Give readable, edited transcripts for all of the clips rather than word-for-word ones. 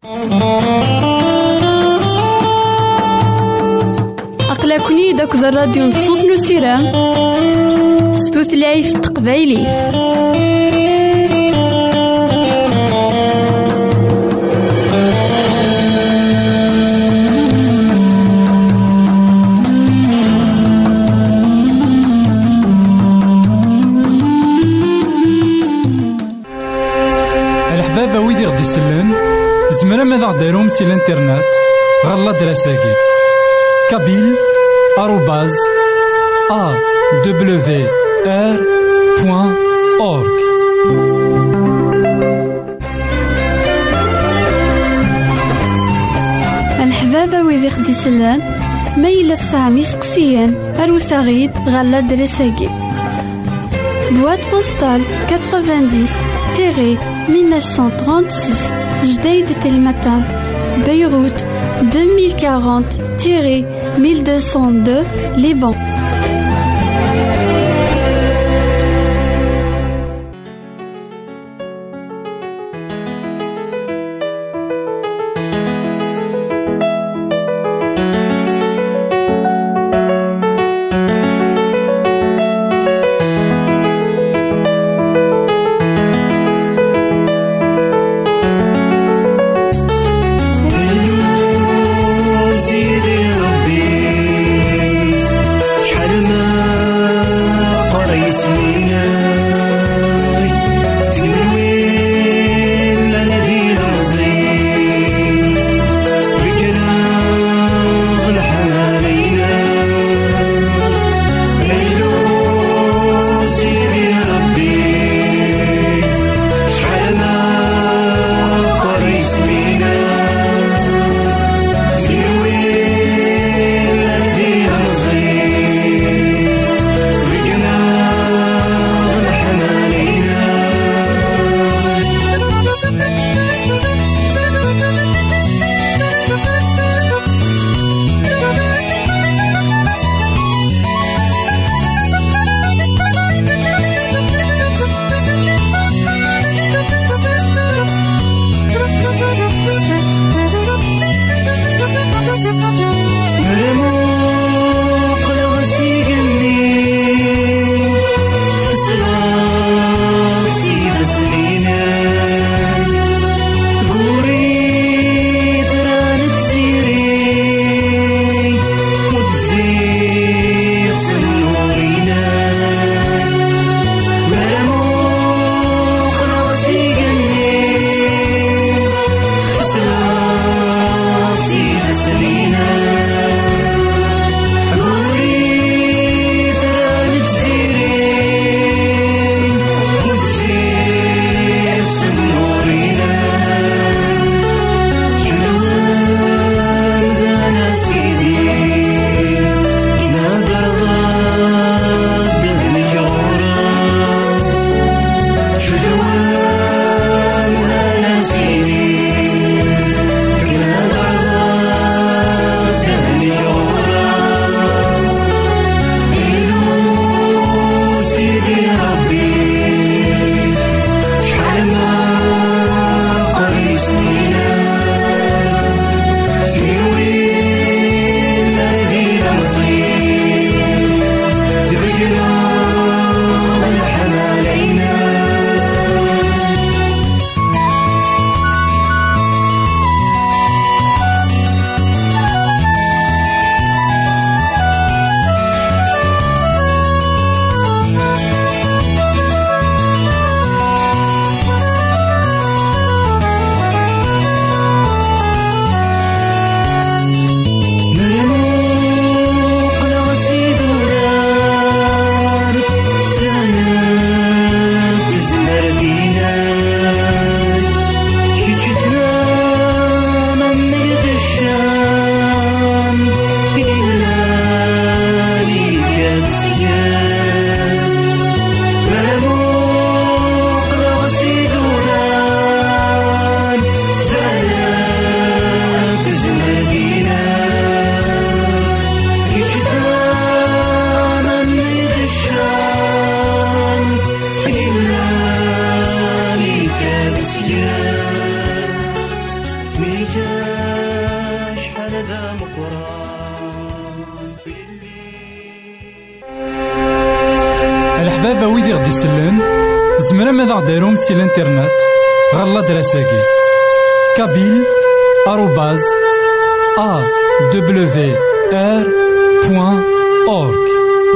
أقلكني داك الراديو نصوص نسيران ستوثلايف تقبايلي. الحبابة ويدي غدي يسلم زمرا ماذا غديرهم سي الانترنت غالا دراساكي kabyle@awr.org. الحبابة ويدي غدي يسلم ميلة سامي سقسيان أروساغيد غالا دراساكي boîte postale 90-1936 Jdeï de Telmatan Beyrouth 2040-1202 Liban. شحال ذا مقران الحبابة ويدي غدي يسلن زمرا ماذا غديرهم سي الانترنت غالا دراساكي كابيل آروباز awr.org.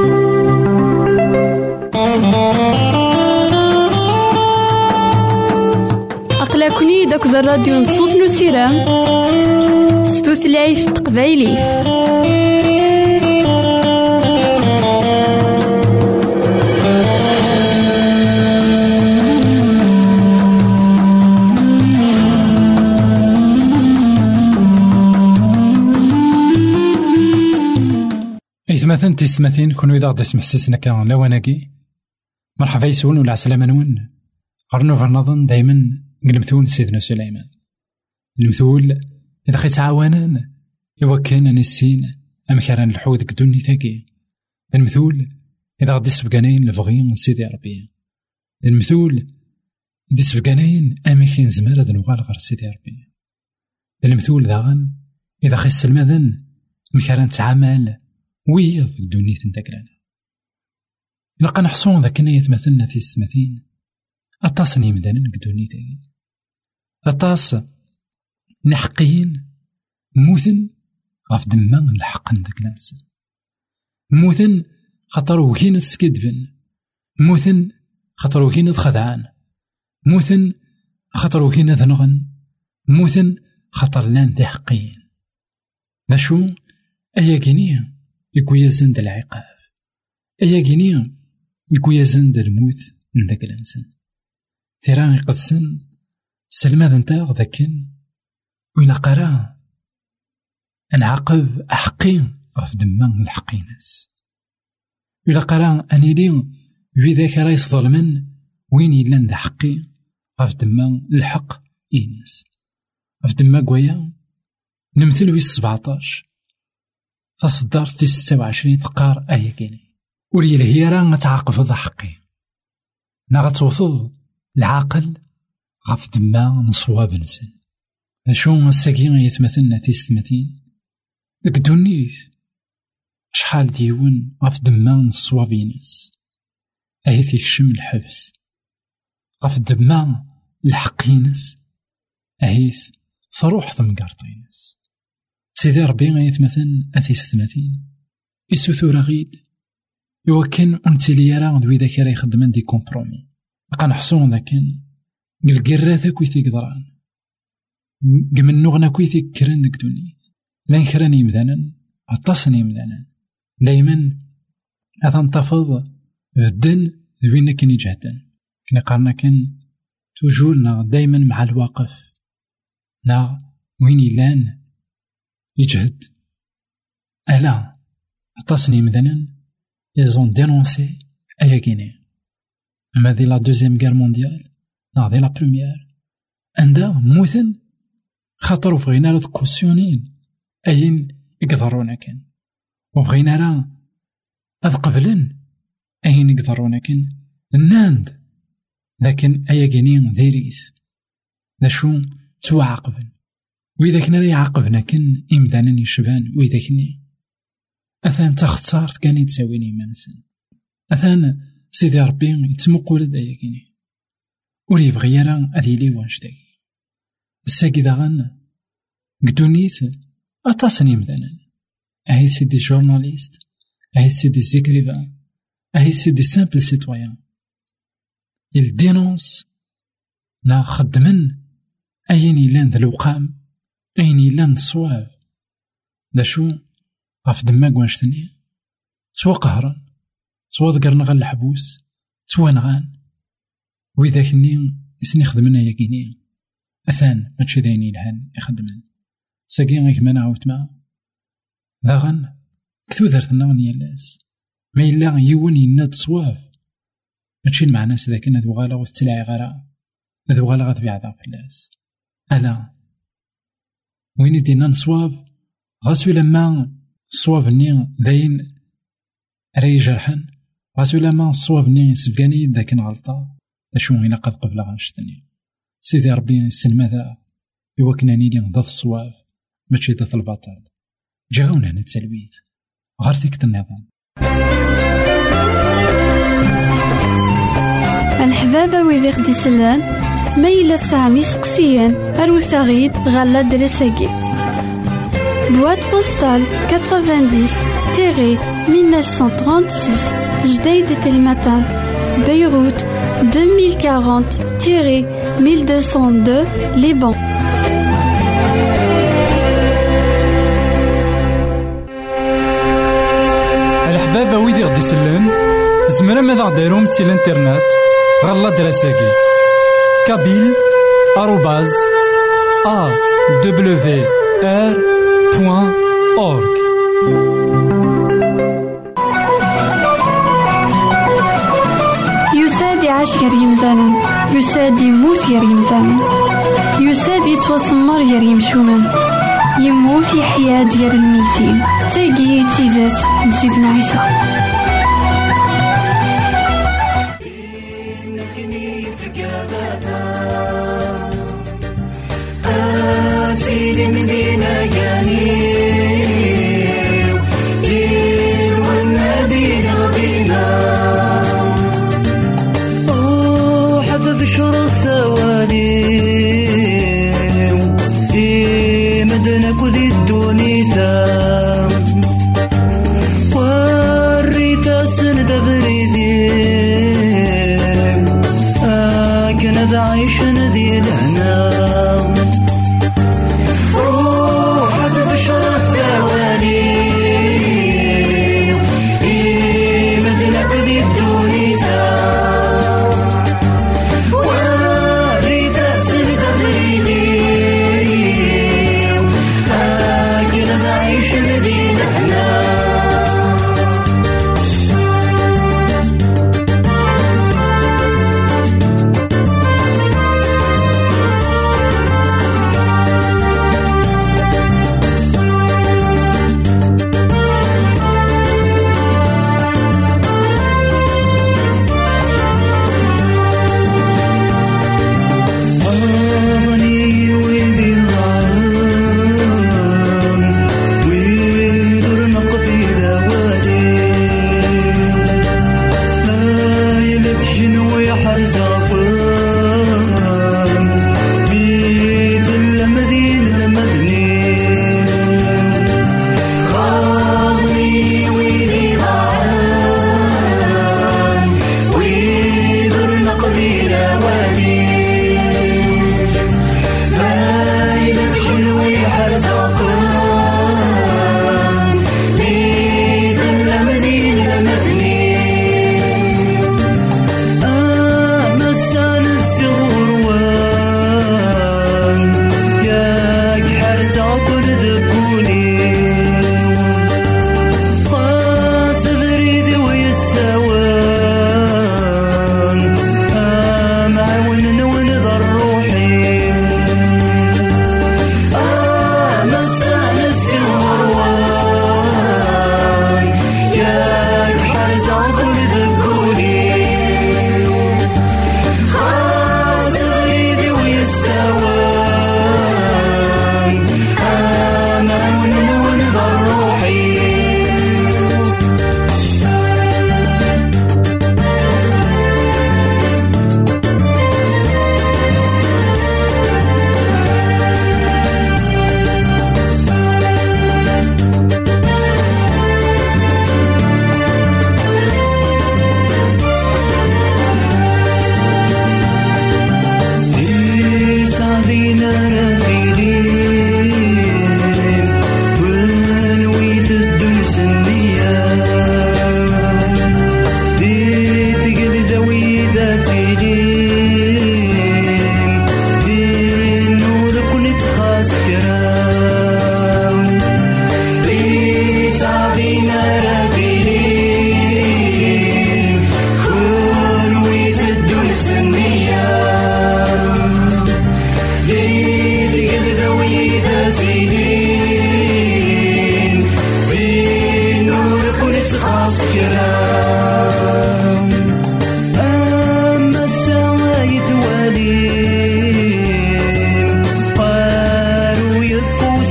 أقلكني داك الراديو نصوص نسيرام ستوثلايف تقبايلي. إثماثن تيستماثين كونو إذا غدا سمح سيسنا كان لواناكي مرحبا يسون ولا عسلامة نون غرنو فرنظن دايما نقلمثون سيدنا سليمان المثول إذا خي تعاونان يوكن نسين أمكران الحوذ كدوني ثاكي المثول إذا غدي سبقانين لفغين سيدي ربي المثول دي سبقانين أمكين زمارة نوغال غير سيدي ربي المثول داغن إذا خي السلماذن مكران تعامل ويض الدنيا تنتقلنا لقا نحصون ذاك نيت مثلنا في السماثين أطاسني مدانا نقدوني تاقي أطاس نحقين موثن غاف دمان الحق نداك الانسان موثن خاطر وكين تسكدبن موثن خاطر وكين تخدعان موثن خاطر وكين ذنغن موثن خاطر لان ذي حقين ذا شو أيا كينيا يكويا زند العقاب أيا كينيا يكويا زند الموت نداك الانسان ثيران يقدسن سلماذ نتاع ذاكن وين قرا نعاقب أحقين غف دمان الحقيناس وإلا قرا أني لين بذاك رايس ظلمن وين يلان ذا حقي غف دمان الحق إيناس غف دما قويا نمثل في 17 تصدر في 26 تقار أيا كيني وليل هي راه تعاقب ذا حقي نغتوصل العاقل غف دما نصواب نسن شو الساقين يتمثلنا تيستمثين ديك الدنيت شحال ديون غف دما نصوابينس أهيث يكشم الحبس غف دما الحقينس أهيث صروح ثمقارطينس سيدي ربي يتمثل أتيستمثين يسوثو رغيد يوكن أنتلي راه دوي ذاك راه يخدمن دي كومبرومي بقا نحصون ذاكن قلقراثا كويثي قدران قمن نغنا كويثي كران ديك دوني لان كراني مذانا عطاسني مذانا دايما هذا انتفض الدن ذوينا كن يجهدن كنا قارنا كن توجورنا دايما مع الواقف نا وين يلان يجهد ألا عطاسني مذانا يزون دينونسي أيا كيني أما ذي لا دوزيام غير مونديال نا ذي لا بروميير عندها موثن خاطر وفغينا راه كوسيونين أين يقدرونا كان وفغينا راه أذ قبلن أين يقدرونا كان الناند لكن أيا كينين ديريس ذا شو توعاقبن وإذا كنا يعاقبنا كن إمدانا يشبان وإذا كني أثان تختارت كان يتساويني منسن أثان سيدي ربي يتمقول دايا كيني ولي بغي راه أذي لي وانشتاكي الساقي داغن قدونيت أطاسني مدانا أهي سيدي جورناليست أهي سيدي زيكريفان أهي سيدي سامبل سيتويان الدينونس نا خدمن أين يلان ذا الوقام أين يلان الصواب دا شو غف دماغ وانشتني سوا قهرا سوا ذكرنا غا الحبوس سوا نغان وإذا كني يسني خدمنا ياكيني أثان ماتشي دايني لهان يخدمن ساقين غيك ما نعاود ما ذاغن كتو درتنا ونيالاس ما إلا يون يناد صواب ماتشي المعناس ذاك هادو غالا وتتلاعي غالا هادو غالا غتبيع ذا فلاس ألا وين يدينا نصواب غاسو لما الصواب ني داين راي جرحن غاسو لما الصواب ني سبقاني ذاك غلطة أشو هنا قد قبل غنشتني سيدي ربي السن ماذا يوكناني لي ضد الصواب ماشي ضد البطل. جي غاونا هنا التلويث غير ثيكة النظام. الحبابة ويدي غدي سلان ميلا سامي سقسيان أروساغيد غالا دريساكي بواد بوستال 90-1936 جديد تلمتان بيروت 2040-1202 لبنان. الحبابة ويدي غدي سلان زمرا ماذا غديرهم سي الانترنت غالا دراساكي kabyle@awr.org. يساد يعيش غير يمثالا يساد يموت غير يمثالا يساد يتوسمر غير يمشومان يموت يحيا ديال الميتين تاقي تيزات نسيدنا عيسى.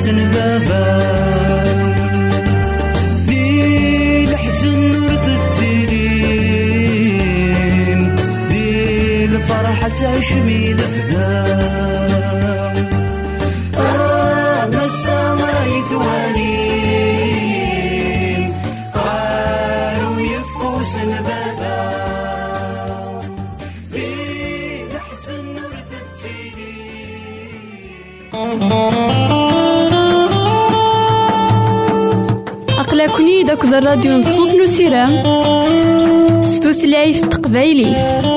بابا دي الحزن ورثتيلين دي الفرحة تعيش مين فدا ما السما يثوانين قالوا يفوس بابا دي الحزن ورثتيلين أقلكني داك الراديو نصوص نسيرام ستوثلايف تقبايلي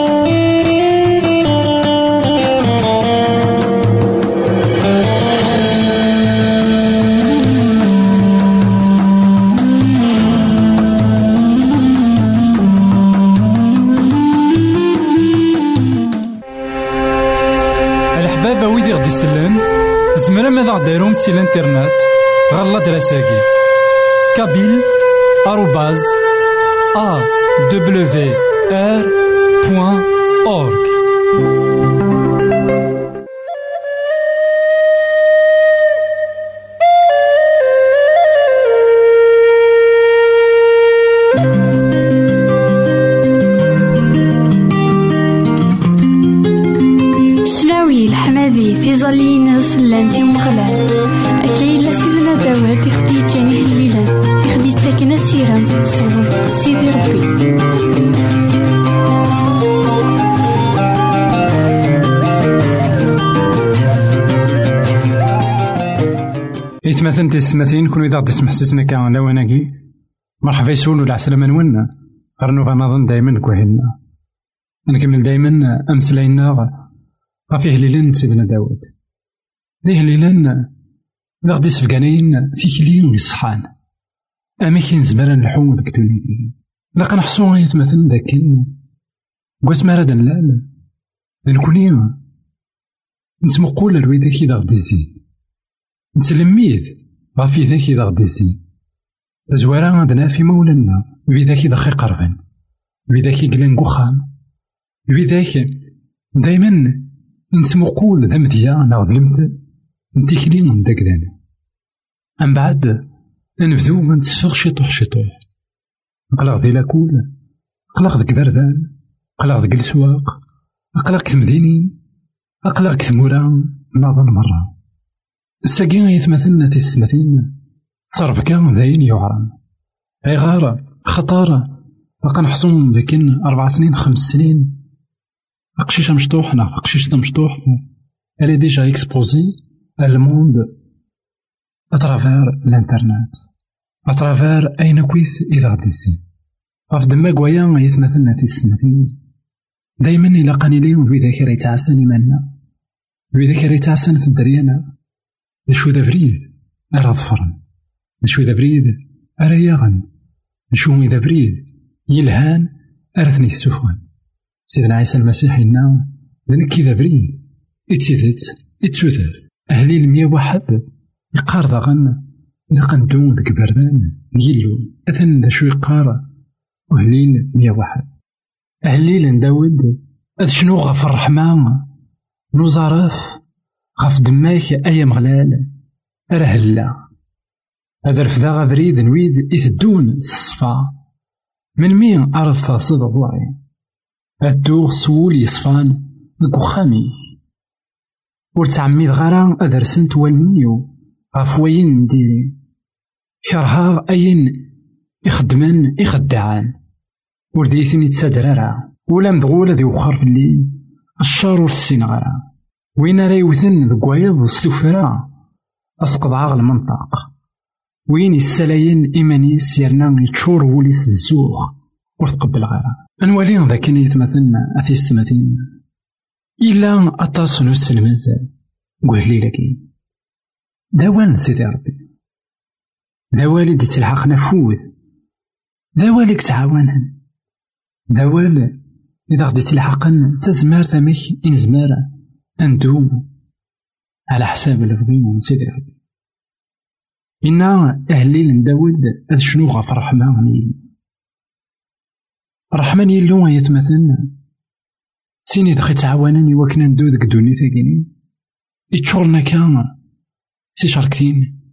الحبابة ويدي غدي يسلم زمرا ماذا غديرهم سي الانترنت غالا دراساكي kabyle@awr.org. شلاوي الحمادي في ظلين سلانتي ومغلان أكيد سيدنا داود يخدي جاني الليلة يخدي تاكنا سيرام صور سيدي ربي إثمثن تستمثين كونو إذا غدي تسمح سيسنا كان لواناكي مرحبا يسون ولا عسلامة نولنا غرنو غنظن دايما كوهلنا نكمل دايما أمسلاينا غفيه ليلان سيدنا داود ليه ليلان إذا غدي سفقانين تيكلين يصحان أماكن زمرا نلحو ذاك دوني لقا نحصو يتمثل ذاكن قواس مارد نلال نكوني نسمقول الويداك إذا غدي زين نسلميد غافي ذاك إذا غدي زين زوارا عندنا في مولانا بذاك إذا خي قربان بذاك قلن قخام بذاك دايما نسمقول ذا مذيا ناخذ المثل نتيكلين داك دانا أم بعد نبذو منتسفغ شطوح شطوح نقلق ذي لاكول نقلق ذك بردان نقلق ذك السواق نقلق ثمدينين نقلق ثموران نظن مرة الساقين يتمثلنا تستمثين صرف كان ذاين يعرم أي غارة خطارة لقا نحصون ذاكين 4 سنين 5 سنين أقشيش مشطوح ناخذ أقشيش ذا مشطوح elle est déjà exposée à le monde à travers l'internet à travers أين كويس إذا غدي الزين غاف دما كوايا يتمثلنا تستمثين دايما إلا قاني ليهم بذاك راه يتعسن إيماننا بذاك راه يتعسن في الدريانة نشو ذا بريد أرى ظفرن نشو ذا بريد أرى يغن نشو إذا بريد يلهان أرثني السفن سيدنا عيسى المسيح إنا لنكي ذا بريد إتسيثت إتسوثت أهلي 101 يقار ذاغن نقندون ذاك بردان يلو أثن ذا شو يقار وهليل 101 أهليل داود أذ شنو غف الرحمن نوزارف غف دماك أي مغلال رهلا هذا رفدا غبريد نويد إثدون الصفا من مين أرض تصد غوعي أدو سول يصفان دكو خاميس ورتعميد غرا أدرسنت والنيو غفوين نديري شرها أين يخدمن يخدعان ورديثني تسادرارا ولا مدغولة ذي وخر في الليل الشار والسين غرا وين راه يوثن ذك وايض السفرة أسقط عاغ المنطق وين السلاين إيمانيس يرنا يتشور وليس الزوخ وتقبل غيرها أنوالي ذاك يتمثلنا أثيستمثين إلا أتصل السلمات قهلي لكي داوال سيدي ربي داوالي دي تلحق نفوذ داوالك تعاونن داوال إذا غدي تلحقن تزمار تمك إن زمارة أندوم على حساب الفضيم سيدي ربي إنا أهلي داود أذ شنو غف الرحمن الرحمن يلو يتمثلنا سيني دخي تعاونني وكنا ندو ذك دوني ثاقيني يتشغلنا كان سي شاركتين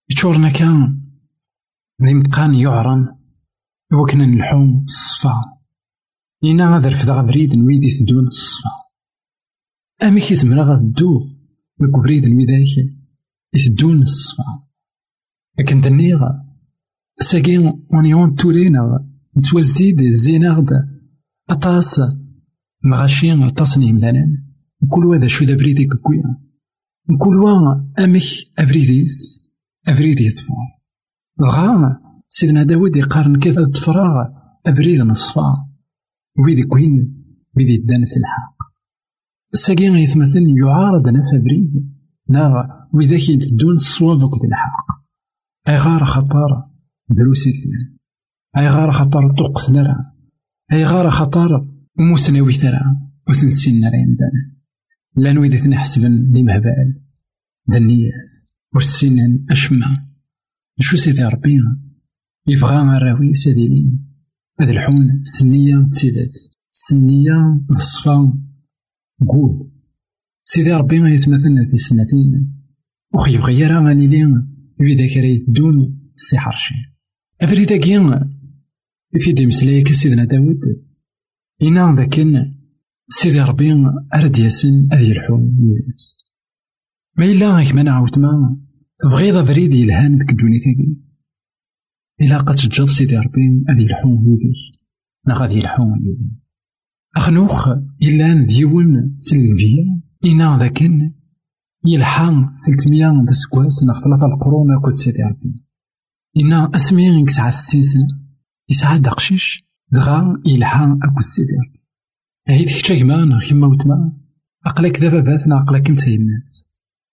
يتشورنا كان ذي متقان يعرن وكنا نلحوم الصفا إنا هذا الفدا بريد نويدي تدون الصفا أمي كي زمرا غدو ذاك بريد نويداك يتدون الصفا لكن تنيغ ساكين ونيون تولينا نتوزيد الزينة غدا أطاس نغاشين أطاسني مذانا كل واحد شو ذا بريدي كويا كل واحد أمك أبريديس أبريدي يطفار الغام سيدنا داود يقارن كذا التفراغ أبريد نصفا ويدي كوين بيدي الدانس الحق الساقين يتمثل يعارض نفا بريد ناغ وذاك يدون الصواب وكذا الحق أي غار خطار دروسي كنا أي غار خطار طوق نرى أي غار خطار موسناوي ترى وثنسين نرى يمدانا لأنو إذا تنحسبن لي مهبال ذا النيات ورسينا أشمع نشو سيدي ربي يبغى مراوي ساديلين هذا الحون سنية تسيدات سنية الصفا قول سيدي ربي ما يتمثلنا في سنتين وخي يبغى يرى غاني لين بذاك راه يدون السحر شي أفريدا كيان في دي مسلايك سيدنا داود إنا ذاكن سيدي ربي أرد ياسن أذي الحوم ياس ما إلا غيك ما نعاود ما تبغيض بريد يلهان ذك الدوني تاكي إلا قد تجد سيدي ربي أذي الحوم يديك نا غادي الحوم يديك أخنوخ إلا ديون سلفيا إنا ذاكن يلحان 300 د سكواس نا 3 القرون كود سيدي ربي إنا أسمين كسعة 60 سنة يسعى دقشيش دغا يلحان أكو سيدي ربي هيد كتاك ما كيما وتما أقلك دابا باتنا أقلك نتا الناس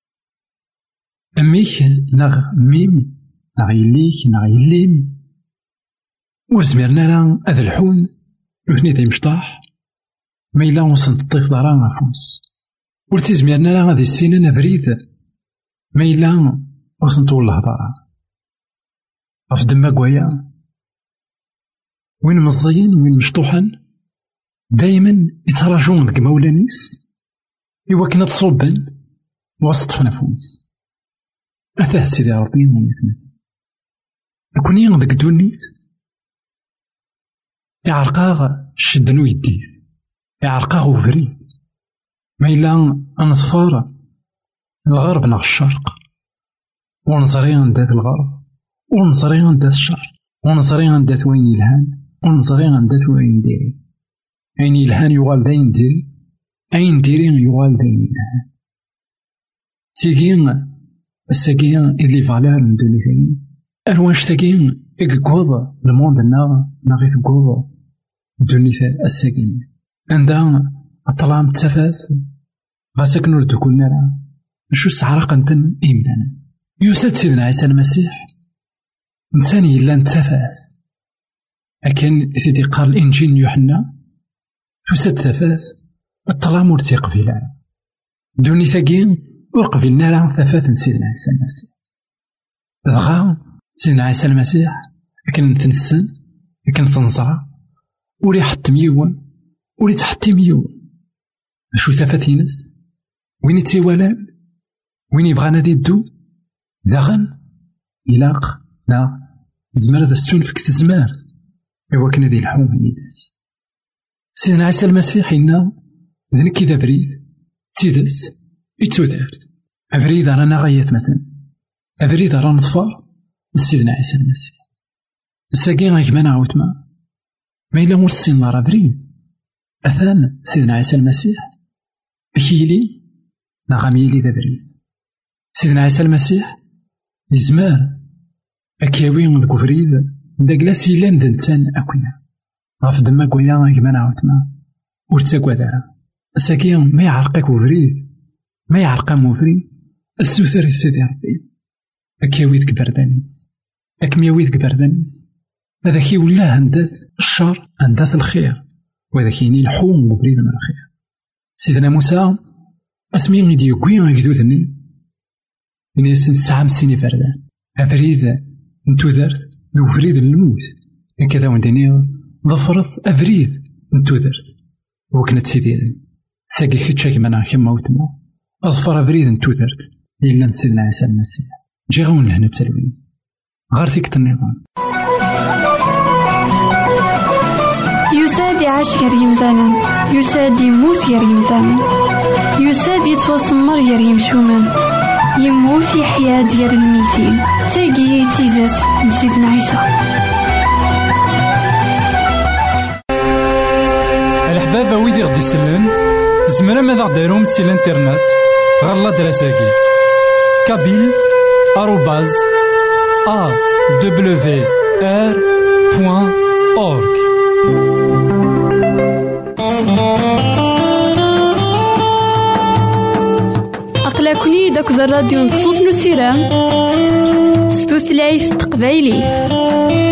أميك ناغ ميم ناغ يليك ناغ يليم وزميرنا راه هذا الحون وثني ذي مشطاح ما إلا وصلت الطيف دارا غافوس ورتي زميرنا راه هذه السنة نفريد ما إلا وصلت والله دارا غف دما كوايا وين مزيين وين مشطوحن دايما يتراجعون ذك مولانيس إوا كنا تصوبن وسط فنفوس أثاه سيدي ربي ما يتمثل كوني ذاك دونيت يعرقاغ شدنو يديت يعرقاغ وفريد ما إلا أنصفار الغرب نغ الشرق ونصري عندات الغرب ونصري عندات الشرق ونصري عندات وين يلهان ونصري عندات وين ديري أين يلهان يغال داين ديري أين ديري يغال داين يلهان تيجين الساقين إذ لي فالار ندوني ثاني أرواش تاقين إقوض الموند ناغي تقوض دوني الساقين عندها الطلام تفاث غاسك نردو كلنا راه نشو سعرق انتن إيمدانا يوسد سيدنا عيسى المسيح إنسان إلا نتفاث لكن سيدي قال الإنجيل يوحنا يوسد تفاث الطلام ورتيق في العالم دوني ثاقين وقفلنا راه ثفاث سيدنا عيسى المسيح دغا سيدنا عيسى المسيح لكن تنسن لكن تنصرع ولي حط ميون ولي تحطي ميون شو ثفاث ينس وين يتسيوالان وين يبغى نادي الدو داغن إلاق لا زمر ذا السون فيك تزمار إوا كنا ذي الحوم يدس سيدنا عيسى المسيح إنا ذنك إذا بريد تيدس يتودارد أفريد رانا غايات مثلا أفريد رانا نطفار سيدنا عيسى المسيح الساقين غايك ما نعاود ما إلا مرسين نار أفريد أثان سيدنا عيسى المسيح أكيلي نغاميلي ذا بريد سيدنا عيسى المسيح يزمار أكياوين ذكو فريد داكلاس يلان دنتان أكونا غاف دما كويا غايك ما نعاود ورتاكوا دارا الساقين ما يعرقك وفريد ما يعرقا موفري السوثر سيدي ربي أكياوي ذك بردانيس أكمياوي ذك بردانيس هذا كي ولا عندات الشر عندات الخير وهذا كيني الحوم وفريد من الخير سيدنا موسى اسمين يدي يقوي غيكدوثني من يسن ساعة مسيني فردان أفريد نتو ذرت ذو فريد الموت هكذا وندني ظفرت أفريد نتو ذرت وكانت سيديرن ساقي كتشاك منا كما وتما أظفر أفريد نتو ذرت إلا سيدنا عيسى المسيح جي غون لهنا تسلوين غار فيك النظام. يساد يعيش غير يمثالا، يساد يموت غير يمثالا، يساد يتوسمر غير يمشومن، يموت يحيا ديال الميتين. تاقي تيزات نسيدنا عيسى. الحبابة ويدي غدي يسلن زمرا ماذا غديرهم سي الانترنت غالا دراساكي كابيل @awr.org. أقلكني داك الراديو نصوص نسيران ستوثلايف تقبايلي.